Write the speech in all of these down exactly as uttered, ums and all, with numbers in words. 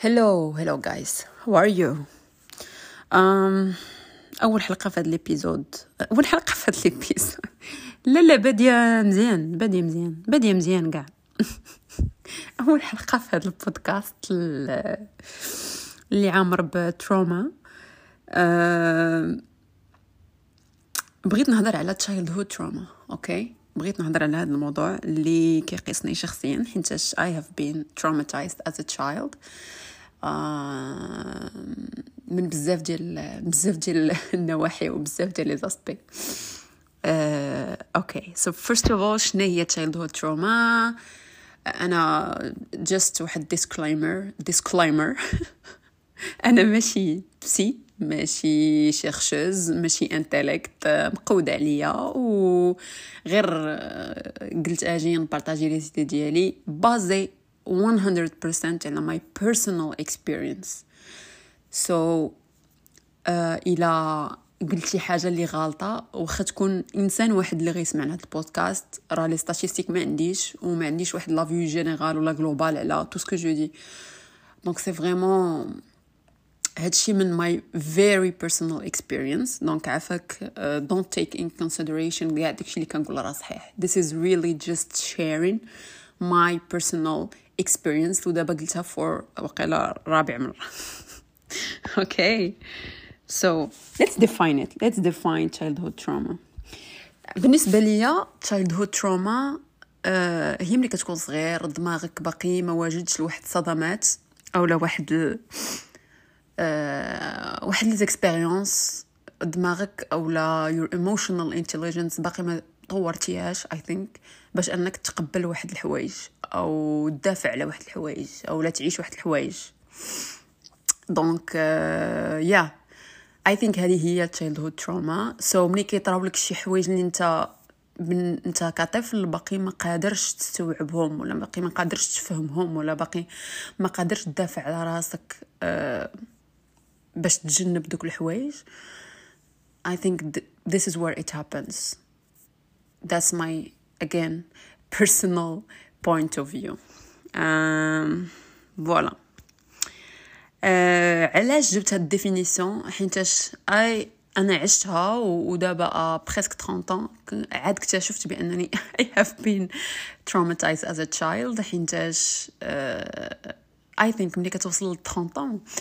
hello hello guys, how are you? um, اول حلقه في هذا الابيزود اول حلقه في هذا الابيزود لا لا باديه مزيان باديه مزيان باديه مزيان كاع اول حلقه في هذا البودكاست اللي عامر بتروما. أه بغيت نهضر على childhood trauma. اوكي بغيت نهضر على هذا الموضوع اللي كيقيسني شخصيا حيتاش I have been traumatized as a child آه من بزاف ديال بزاف ديال النواحي وبزاف ديال لي زاسبي. آه اوكي so first of all شنو هي childhood trauma؟ انا just واحد disclaimer disclaimer انا ماشي بسي ماشي شيرشوز ماشي انتليكت مقودة عليا وغير قلت اجي نبارطاجي لي سيتي ديالي بازي one hundred percent على my personal experience. so uh, الى قلت شي حاجه اللي غلطه واخا تكون انسان واحد اللي غيسمع هذا البودكاست راه لي ستاتيستيك ما عنديش وما عنديش واحد لا فيو جينيرال ولا جلوبال على تو سكو جو دي. دونك سي فريمون هادشي من my very personal experience. دونك عافاك uh, don't take in consideration كاع داكشي اللي كنقول راه صحيح. This is really just sharing my personal experience ودابا قلتها for وقيلا رابع مرة. okay so let's define it let's define childhood trauma. بالنسبة ليا childhood trauma uh, هي ملي كتكون صغير دماغك باقي ما واجدش لواحد الصدمات او لا واحد أه واحد لي زيكسبيريونس دماغك او لا your emotional intelligence باقي ما طورتيهاش I think باش انك تقبل واحد الحوايج او تدافع على واحد الحوايج او لا تعيش واحد الحوايج. دونك يا I think هذه هي childhood trauma. so ملي كيطراو لك شي حوايج اللي انت من انت كطفل باقي ما قادرش تستوعبهم ولا باقي ما قادرش تفهمهم ولا باقي ما قادرش تدافع على راسك أه باش تجنب دوك الحوايج. I think th- this is where it happens. That's my again personal point of view. um, voilà. uh, علاش جبت هاد الديفينيسيون حيتاش اي انا عشتها ودابا بريسك ثلاثين ans عاد اكتشفت بانني I have been traumatized as a child حيتاش uh, I think ملي كتوصل ل ثلاثين ans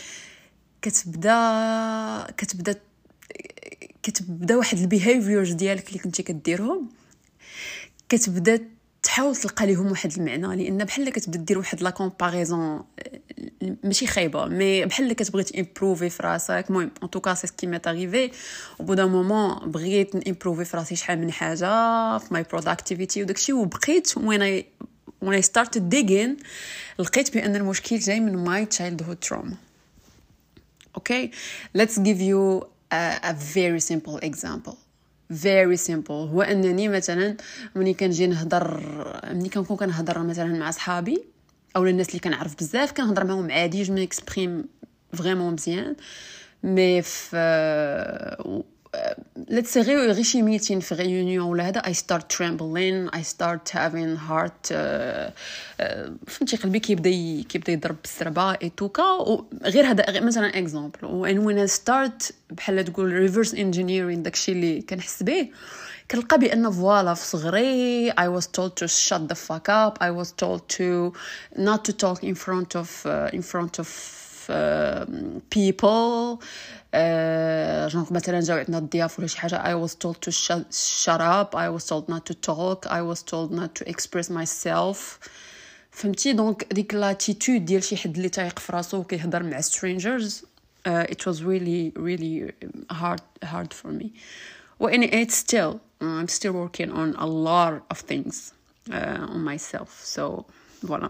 كتبدا كتبدا كتبدا واحد البيهافيورز ديالك اللي كنتي كديرهم كتبدا تحاول تلقى ليهم واحد المعنى لان بحال كتبدا دير واحد لا كومباريزون ماشي خايبه مي بحال كتبغي تيمبروفي في راسك. المهم ان توكا سي سكي ميت اريفي او بو دان مومون بغيت نيمبروفي في راسي شحال من حاجه في ماي بروداكتيفيتي وداكشي وبقيت when I when I started digging لقيت بان المشكل جاي من my childhood trauma. Okay, let's give you a, a very simple example. very simple هو انني مثلا ملي كنجي نهضر ملي كنكون كنهضر مثلا مع صحابي او الناس اللي كنعرف بزاف كنهضر معهم عادي جو ميكسبريم فريمون مزيان مي في let's say غير شي ميتين في ريونيون ولا هذا I start trembling I start having heart uh, uh, فهمتي قلبي كيبدا كيبدا يضرب بالسربه اي توكا غير هذا مثلا اكزامبل. and when I start بحال تقول reverse engineering داكشي اللي كنحس به كنلقى بان فوالا في صغري I was told to shut the fuck up I was told to not to talk in front of uh, in front of uh, people جونغ مثلا جاو عندنا الضياف ولا شي حاجه I was told to shut, shut up I was told not to talk I was told not to express myself. فهمتي دونك ديك لاتيتود ديال شي حد اللي تايق في راسو وكيهضر مع strangers uh, it was really really hard hard for me and it's still uh, I'm still working on a lot of things uh, on myself. so voilà.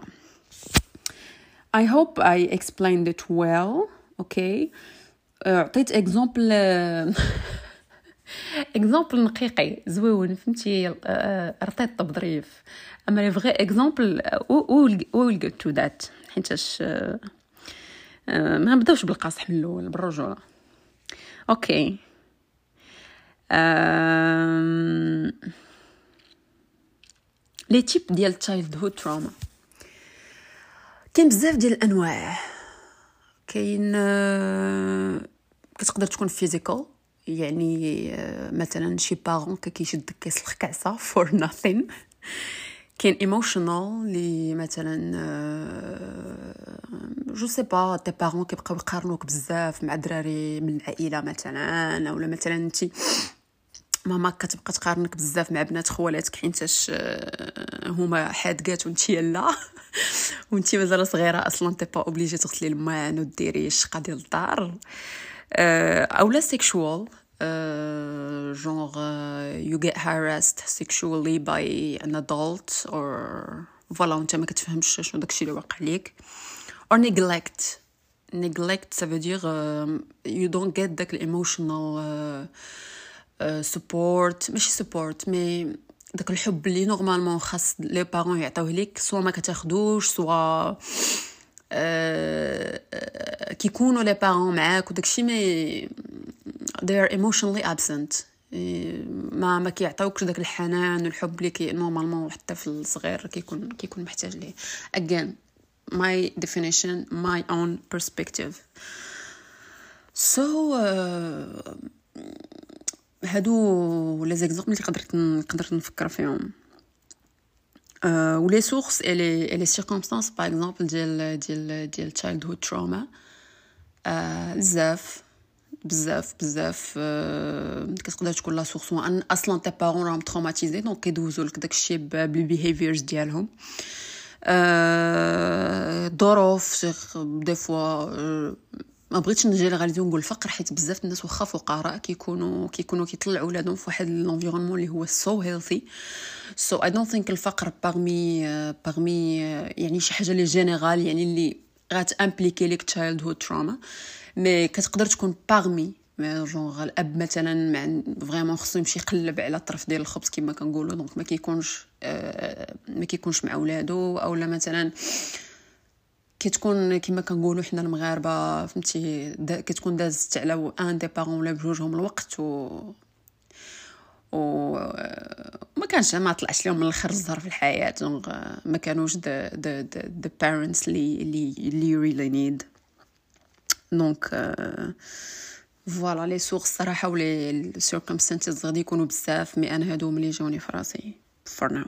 I hope I explained it well. okay عطيت اكزامبل اكزامبل نقيقي زوين فهمتي رطيت بظريف اما لي فغي اكزامبل ويل جيت تو ذات حيتاش ما نبداوش بالقاصح من الاول بالرجوله. اوكي لي تيب ديال childhood trauma كاين بزاف ديال الانواع كاين آه، كتقدر تكون فيزيكال، يعني آه، مثلا شي بارون كيشدك كيسلخ كعصه for nothing. كاين ايموشنال اللي مثلا جو سي با تي بارون كيبقاو يقارنوك بزاف مع دراري من العائله مثلا، اولا مثلا انت ماما كتبقى تقارنك بزاف مع بنات خوالاتك حيتاش آه، هما حادقات وانت لا وانت مازال صغيره اصلا تي با اوبليجي تغسلي الماعن وديري الشقه ديال الدار. آه، اولا سيكشوال genre uh, you get harassed sexually by an adult or voilà وانت ما كتفهمش شنو داكشي اللي واقع ليك. or neglect neglect ça veut dire uh, you don't get داك emotional uh, uh, support ماشي support مي داك الحب اللي نورمالمون خاص لي بارون يعطيوه ليك، سوا ما كتاخدوش سوا أه كيكونوا لي بارون معاك وداكشي مي they are emotionally absent. ما ما كيعطيوكش داك الحنان والحب اللي كي نورمالمون حتى الطفل الصغير كيكون كيكون محتاج ليه. again my definition my own perspective. so uh, هادو لي زيكزامبل اللي قدرت نقدر نفكر فيهم. Euh, ou les sources et les, et les circonstances par exemple ديال ديال ديال childhood trauma آه بزاف بزاف بزاف آه كتقدر تكون لا سورس ان اصلا تي بارون راهم تروماتيزي دونك كيدوزوا لك داكشي بالبيهيفيرز ديالهم. آه ظروف دي فوا آه ما بغيتش نجينيراليزي ونقول الفقر حيت بزاف الناس واخا فقراء كيكونوا كيكونوا كيطلعوا ولادهم في واحد الانفيرونمون اللي هو سو هيلثي. سو اي دونت ثينك الفقر باغمي باغمي يعني شي حاجه لي جينيرال يعني اللي غاتامبليكي ليك تشايلد هود تروما، مي كتقدر تكون باغمي جونغ الاب مثلا مع فريمون خصو يمشي يقلب على الطرف ديال الخبز كما كنقولوا، دونك ما كيكونش آه ما كيكونش مع ولادو، اولا مثلا كتكون كما كنقولوا حنا المغاربه فهمتي دا كتكون دازت على ان دي بارون ولا بجوجهم الوقت و و ما كانش ما طلعش لهم من الاخر الزهر في الحياه، دونك ما كانوش the the the, the parents اللي اللي اللي really need. دونك فوالا لي سورس صراحه ولي السيركمستانسز غادي يكونوا بزاف، مي انا هادو ملي جاوني في راسي for now.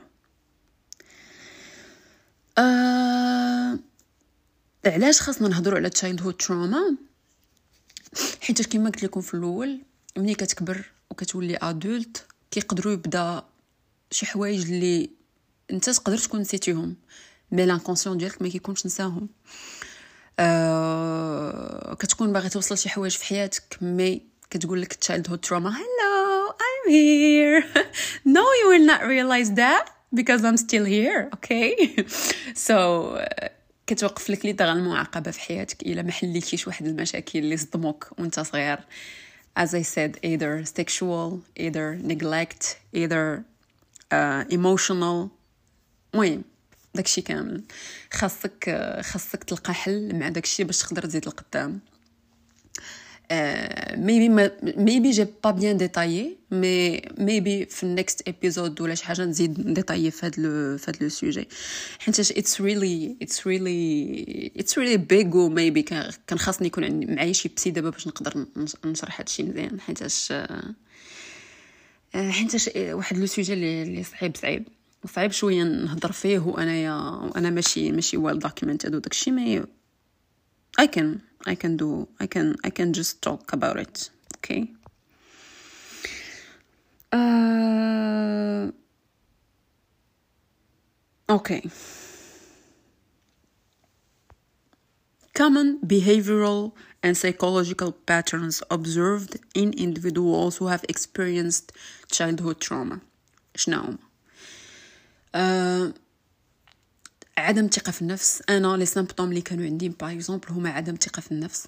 أه... علاش خاصنا نهضروا على تشايلد هود تروما؟ حيت كما قلت لكم في الاول ملي كتكبر وكتولي ادولت كيقدروا يبدا شي حوايج اللي انت تقدر تكون نسيتيهم مي لانكونسيون ديالك ما كيكونش نساهم. أه... كتكون باغي توصل شي حوايج في حياتك مي كتقول لك تشايلد هود تروما hello I'm here no you will not realize that because I'm still here okay so uh, كتوقف لك لي دغ المعاقبه في حياتك الا ما حليتيش واحد المشاكل اللي صدموك وانت صغير. as I said either sexual either neglect either uh, emotional. المهم داكشي كامل خاصك خاصك تلقى حل مع داكشي باش تقدر تزيد لقدام. Uh, maybe maybe j'ai pas bien détaillé mais maybe في next episode ولا شي حاجه نزيد نديطايي في هذا لو في هذا لو سوجي حيت it's really it's really it's really big و maybe كان خاصني يكون عندي معايا شي بسي دابا باش نقدر نشرح هذا الشيء مزيان حيتاش حيتاش واحد لو سوجي اللي اللي صعيب صعيب صعيب شويه نهضر فيه وانايا وانا ماشي ماشي well documented وداكشي مي I can I can do I can I can just talk about it. Okay. Uh, okay. Common behavioral and psychological patterns observed in individuals who have experienced childhood trauma. شنو هما؟ uh, عدم ثقة في النفس. انا لي سيمبتوم اللي كانوا عندي باغ اكزومبل هما عدم ثقة في النفس.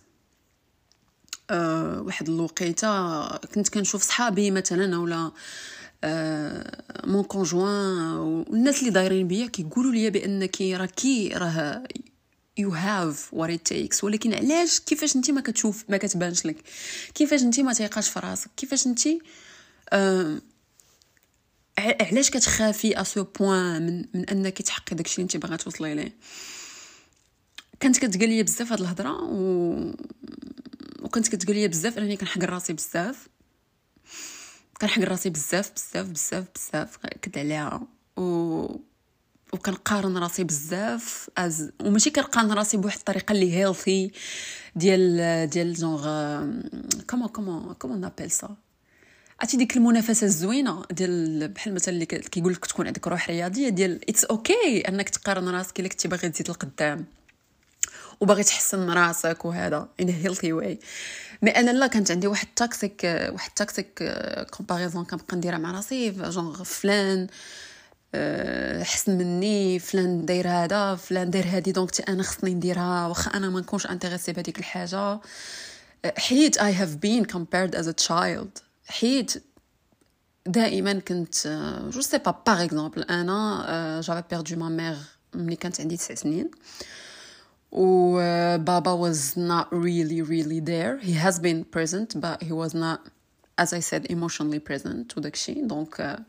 أه واحد الوقيته كنت كنشوف صحابي مثلا ولا أه مون كونجوان والناس اللي دايرين بيا كيقولوا لي بانك راكي راه you have what it takes، ولكن علاش كيفاش انت ما كتشوف ما كتبانش لك، كيفاش انت ما تيقاش في راسك، كيفاش انت أه علاش كتخافي اسو بوين من من انك تحققي داكشي اللي انت باغا توصلي ليه. كانت كتقال لي بزاف هاد الهضره و وكانت كتقال لي بزاف انني كنحقر راسي بزاف كنحقر راسي بزاف بزاف بزاف بزاف كد عليها و وكنقارن راسي بزاف از وماشي كنقارن راسي بواحد الطريقه اللي هيلثي ديال ديال جونغ كومون كومون كومون نابيل سا عرفتي ديك المنافسه الزوينه ديال بحال مثلا اللي كيقول لك تكون عندك روح رياضيه ديال اتس اوكي okay انك تقارن راسك الا كنتي باغي تزيد لقدام وباغي تحسن راسك وهذا in a healthy way. مي انا لا كانت عندي واحد تاكسيك واحد تاكسيك كومباريزون كنبقى نديرها مع راسي جونغ فلان حسن مني فلان داير هذا فلان داير هذه دونك انا خصني نديرها واخا انا ما نكونش انتريسي بهذيك الحاجه حيت I have been compared as a child حيت دائما كنت جو سي با باغ اكزومبل انا جافي بيردو ما مير ملي كانت عندي تسع سنين و بابا was not really really there. He has been present but he was not as I said emotionally present وداكشي دونك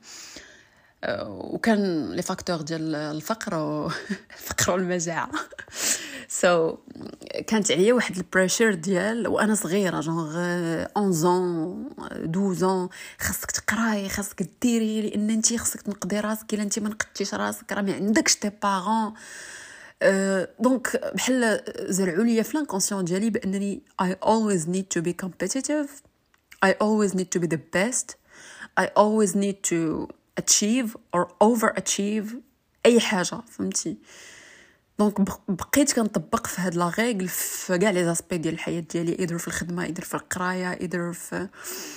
وكان لي فاكتور ديال الفقر الفقر والمجاعه سو so, كانت عليا واحد البريشر ديال وانا صغيره جونغ اونز ans دوز ans خاصك تقراي خاصك ديري لان انت خاصك تنقدي راسك الا انت ما نقدتيش راسك راه ما عندكش تي بارون دونك بحال زرعوا لي في الانكونسيون ديالي بانني I always need to be competitive I always need to be the best I always need to achieve or overachieve اي حاجه فهمتي دونك بقيت كنطبق في هاد لا ريغل في كاع لي زاسبي ديال الحياه ديالي ايدر في الخدمه ايدر في القرايه ايدر في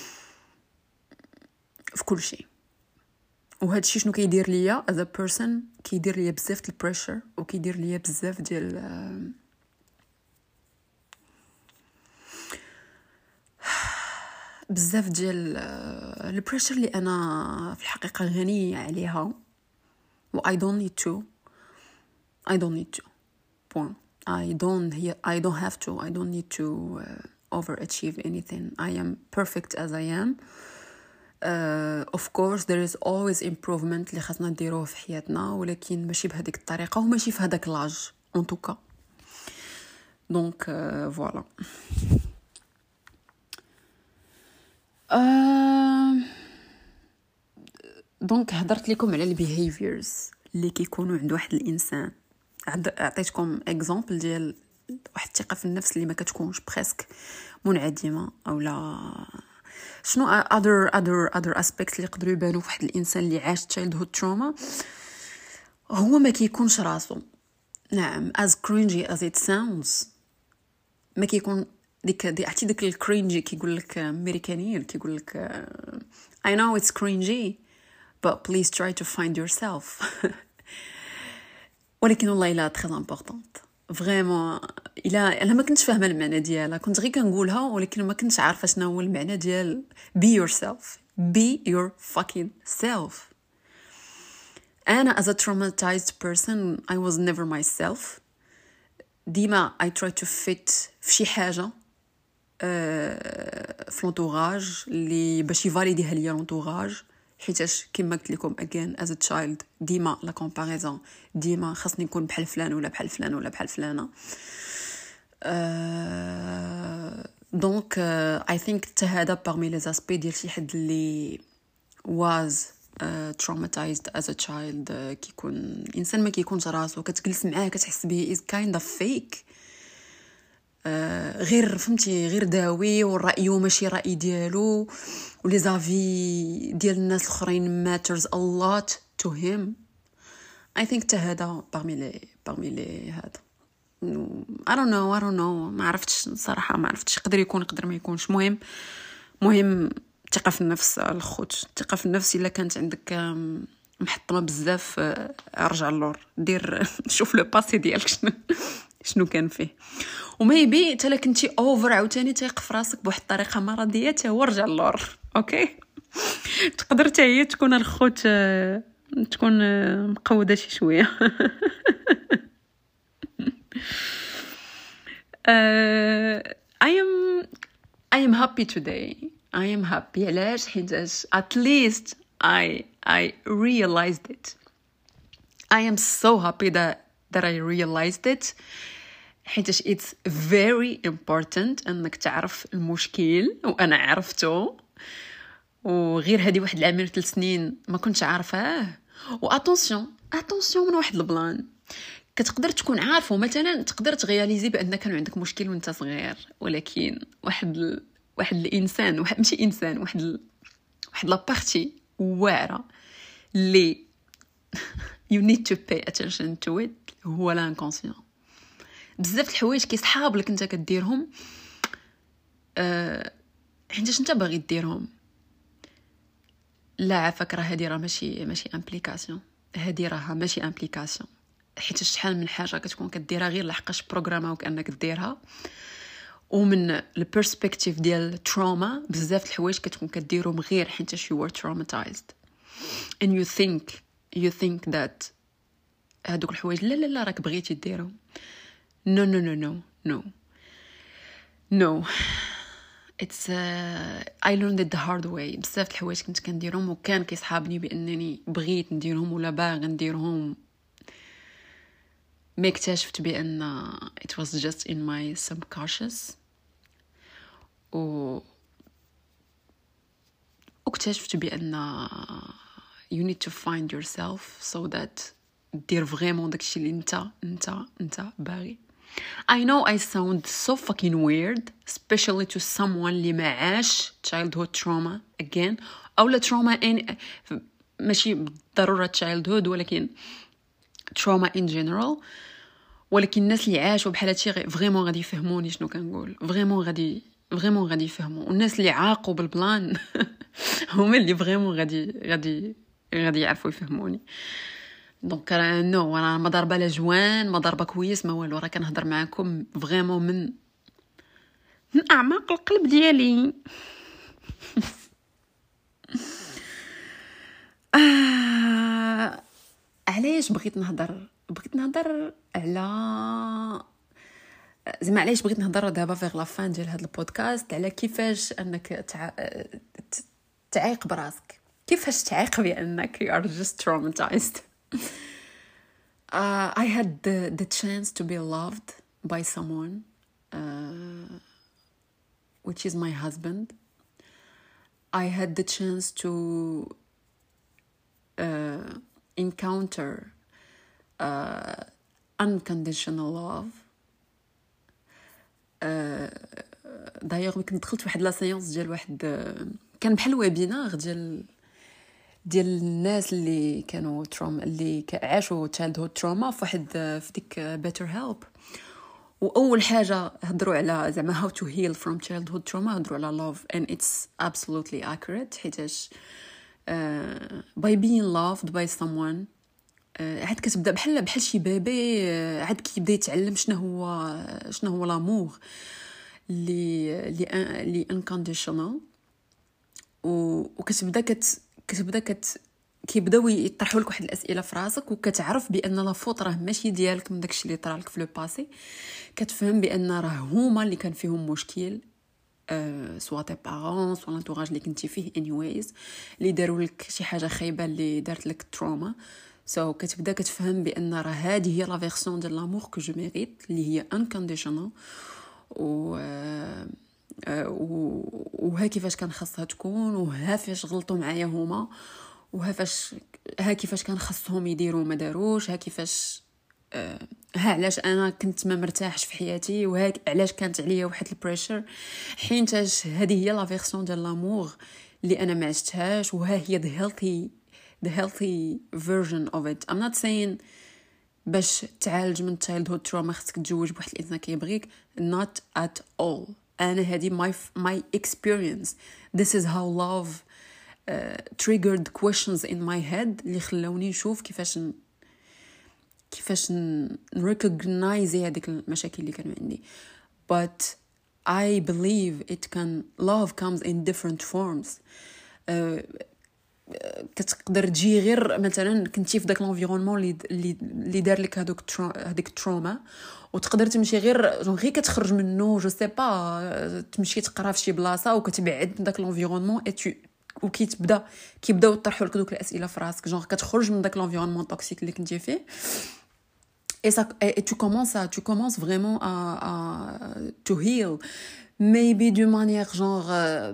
في كل شيء وهذا الشيء شنو كيدير ليا as a person كيدير ليا بزاف ديال البريشر وكيدير ليا بزاف ديال بزاف ديال البريشر اللي انا في الحقيقه غنيه عليها و I don't need to I don't need to point I don't I don't have to I don't need to uh, overachieve anything I am perfect as I am uh, of course there is always improvement اللي خاصنا نديروه في حياتنا ولكن ماشي بهذيك الطريقه وماشي في هذاك لاج en tout cas donc uh, voilà دونك هضرت لكم على البيهيفيرز اللي كيكونوا عند واحد الانسان عطيتكم اكزامبل ديال واحد الثقه في النفس اللي ما كتكونش بريسك منعدمه او لا شنو other other other aspects اللي يقدروا يبانوا في واحد الانسان اللي عاش childhood trauma هو ما كيكونش راسو نعم as cringy as it sounds ما كيكون ديك دي عرفتي داك الكرينجي كيقول لك امريكانيين كيقول لك I know it's cringy but please try to find yourself ولكن والله لا تري امبورطونت فريمون الا انا ما كنتش فاهمه المعنى ديالها كنت غير كنقولها ولكن ما كنتش عارفه شنو هو المعنى ديال be yourself be your fucking self انا as a traumatized person I was never myself ديما I try to fit في شي حاجه في لونطوراج اللي باش يفاليديها ليا لونطوراج حيتاش كما قلت لكم again as a child ديما لا كومباريزون ديما خاصني نكون بحال فلان ولا بحال فلان ولا بحال فلانه دونك اي ثينك حتى هذا باغمي لي زاسبي ديال شي حد اللي was uh, traumatized as a child uh, كيكون انسان ما كيكونش راسو كتجلس معاه كتحس به is kind of fake آه غير فهمتي غير داوي والرأي ماشي رأي ديالو ولي زافي ديال الناس الاخرين matters a lot to him I think تا هذا parmi les parmi les هذا I don't know I don't know ما عرفتش صراحه ما عرفتش يقدر يكون يقدر ما يكونش مهم مهم الثقه في النفس الخوت الثقه في النفس الا كانت عندك محطمه بزاف ارجع اللور دير شوف لو باسي ديالك شنو شنو كان فيه وميبي حتى كنتي اوفر عاوتاني تيق في راسك بواحد الطريقه مرضيه حتى هو رجع اللور اوكي تقدر حتى هي تكون الخوت تكون مقوده شي شويه uh, I am I am happy today I am happy علاش حيتاش at least I I realized it I am so happy that that I realized it حيتاش it's very important انك تعرف المشكل، وانا عرفته، وغير هذه واحد العامين ثلاث سنين ما كنتش عارفاه. واتونسيون اتونسيون من واحد البلان كتقدر تكون عارفه، مثلا تقدر تغياليزي بان كان عندك مشكل وانت صغير، ولكن واحد ال... واحد الانسان واحد ماشي انسان واحد ال... واحد لابارتي واعره لي you need to pay attention to it هو لانكونسيون. بزاف الحوايج كيصحاب لك انت كديرهم أه... حيتاش انت باغي ديرهم. لا عافاك، راه هادي راه ماشي ماشي امبليكاسيون، هادي راه ماشي امبليكاسيون، حيت شحال من حاجه كتكون كديرها غير لحقاش بروغراما وكانك ديرها. ومن البيرسبكتيف ديال التروما بزاف الحوايج كتكون كديرهم غير حيت you were traumatized and you think you think that هادوك الحوايج لا لا لا راك بغيتي ديرهم. no no no no no no it's uh, I learned it the hard way. بزاف الحوايج كنت كنديرهم وكان كيصحابني بانني بغيت نديرهم ولا باغي نديرهم، ما اكتشفت بان it was just in my subconscious. و اكتشفت بان you need to find yourself so that دير فريمون داكشي اللي انت انت انت باغي. I know I sound so fucking weird especially to someone اللي ما عاش childhood trauma again او لا trauma in ماشي بالضروره childhood ولكن trauma in general. ولكن الناس اللي عاشوا بحال هادشي فريمون غادي يفهموني شنو كنقول، فريمون غادي فريمون غادي يفهموا. والناس اللي عاقوا بالبلان هما اللي فريمون غادي غادي غادي يعرفوا يفهموني. دونك نو انا ما ضربه لا جوان ما ضربه كويس ما والو، راه كنهضر معكم فريمون من من اعماق القلب ديالي. آه... علاش بغيت نهضر بغيت نهضر على زعما علاش بغيت نهضر دابا في لا فان ديال هذا البودكاست على كيفاش انك تع... تعيق براسك، كيفاش تعيق بانك you are just traumatized. uh, I had the, the chance to be loved by someone uh, which is my husband. I had the chance to uh, encounter uh, unconditional love. دايوغ ملي كنت دخلت واحد لا سيونس ديال واحد كان بحال ويبينار ديال ديال الناس اللي كانوا تروما اللي عاشوا childhood trauma في واحد في ديك better help. واول حاجه هضروا على زعما how to heal from childhood trauma هضروا على love and it's absolutely accurate حيتاش uh, by being loved by someone عاد كتبدا بحال بحال شي بيبي عاد كيبدا يتعلم شنو هو شنو هو لامور اللي اللي اللي انكونديشنال. وكتبدا كت كتبدا كت كيبداو يطرحوا لك واحد الاسئله في راسك وكتعرف بان لا فوت راه ماشي ديالك من داكشي اللي طرا لك في لو باسي. كتفهم بان راه هما اللي كان فيهم مشكل أه سوا تي بارون سوا لانتوراج اللي كنتي فيه anyways اللي داروا لك شي حاجه خايبه اللي دارت لك تروما. سو so, كتبدا كتفهم بان راه هذه هي لا فيرسيون ديال لامور كو جو ميريت اللي هي انكونديشنال و وها كيفاش كان خاصها تكون وها فاش غلطوا معايا هما وها فاش ها كيفاش كان خاصهم يديروا ما داروش ها كيفاش ها علاش انا كنت ما مرتاحش في حياتي وها علاش كانت عليا واحد البريشر حينتاش هذه هي لا فيرسيون ديال لامور اللي انا ما عشتهاش وها هي the healthy the healthy version of it. I'm not saying باش تعالج من childhood trauma خصك تتزوج بواحد الانسان كيبغيك not at all. انا هذه my my experience. This is how love uh, triggered questions in my head اللي خلاوني نشوف كيفاش ن... كيفاش نrecognize هذيك المشاكل اللي كانوا عندي. But I believe it can love comes in different forms. uh, كتقدر تجي غير مثلا كنتي في داك لونفيرونمون اللي اللي دار لك هذوك هذيك التروما وتقدر تمشي غير جون غير كتخرج منه جو سي با تمشي تقرا في شي بلاصه وكتبعد من داك لونفيرونمون وكيتبدا كيبداو يطرحوا لك دوك الاسئله في راسك جون كتخرج من داك لونفيرونمون توكسيك اللي كنتي فيه et ça et tu commences à tu commences vraiment à à to heal maybe d'une manière genre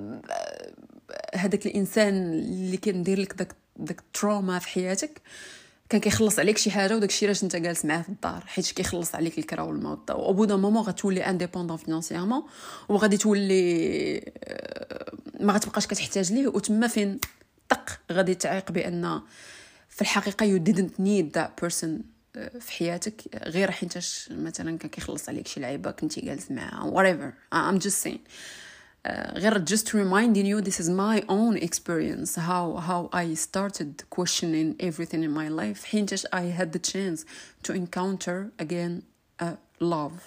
هذاك الانسان اللي كندير لك داك داك تروما في حياتك كان كيخلص عليك شي حاجه وداك الشيء علاش انت جالس معاه في الدار حيت كيخلص عليك الكرا والموت او بو دون مومون غتولي انديبوندون فينانسيرمون وغادي تولي ما غتبقاش كتحتاج ليه وتما فين طق غادي تعيق بان في الحقيقه you didn't need that person في حياتك غير حيتاش مثلا كان كيخلص عليك شي لعيبه كنتي جالس معاه whatever I'm just saying غير just reminding you this is my own experience how how I started questioning everything in my life حينتاش I had the chance to encounter again uh, love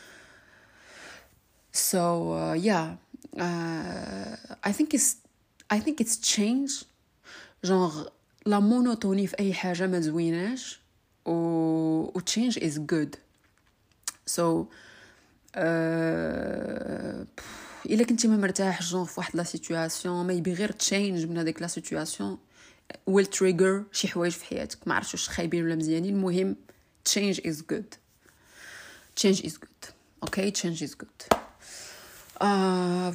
so uh, yeah uh, I think it's I think it's change genre la monotonie في أي حاجة ما زويناش و, و change is good so uh, إلا كنتي ما مرتاح جون في واحد لا سيتوياسيون ما يبي غير تشينج من هذيك لا سيتوياسيون ويل تريجر شي حوايج في حياتك ما عرفتش واش خايبين ولا مزيانين المهم change is good change is good okay change is good uh,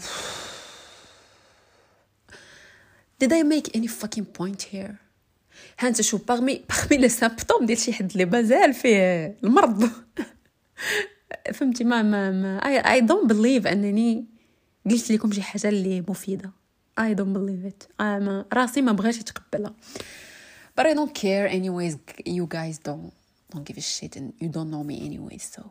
did I make any fucking point here ها انت شوف باغمي باغمي لي سامبتوم ديال شي حد اللي مازال فيه المرض فهمتي ما ما, ما I, I don't believe انني قلت لكم شي حاجه اللي مفيده I don't believe it I'm راسي ما بغاش يتقبلها but I don't care anyways you guys don't don't give a shit and you don't know me anyways so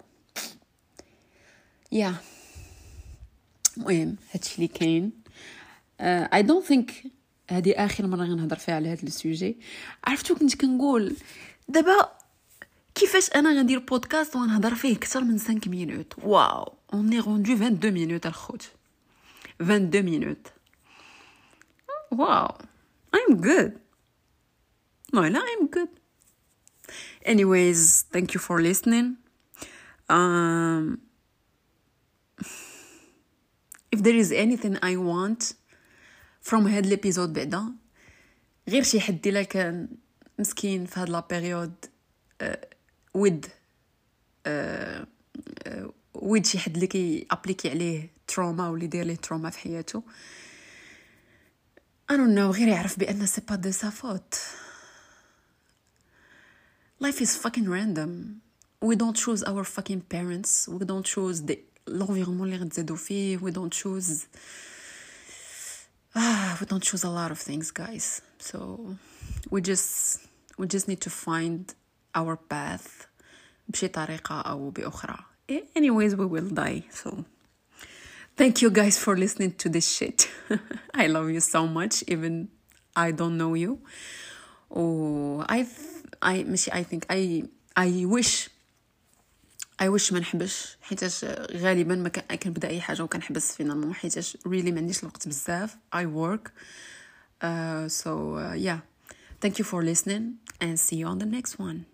yeah المهم هادشي اللي كاين uh, I don't think هذه اخر مره غنهضر فيها على هذا السوجي عرفتو كنت كنقول دابا كيفاش انا غندير بودكاست ونهضر فيه اكثر من خمسة مينوت واو اون اي روندو اثنين وعشرين مينوت الخوت اثنين وعشرين مينوت واو I'm good no لا I'm good anyways thank you for listening um if there is anything I want from هاد الابيزود بعدا غير شي حد الا كان مسكين في هاد لا بيريود ود ود شي حد اللي كي ابليكي عليه تروما ولا يدير ليه تروما في حياته I don't know غير يعرف بان سي با دو سا فوت life is fucking random we don't choose our fucking parents we don't choose the l'environnement اللي غنتزادو فيه we don't choose ah we don't choose a lot of things guys so we just we just need to find our path بشي طريقة أو بأخرى anyways we will die so thank you guys for listening to this shit I love you so much even I don't know you oh I I ماشي I think I I wish I wish ما نحبش حيتاش غالبا ما كنبدا اي حاجه وكنحبس فينالمون حيتاش really ما عنديش الوقت بزاف I work uh, so uh, yeah thank you for listening and see you on the next one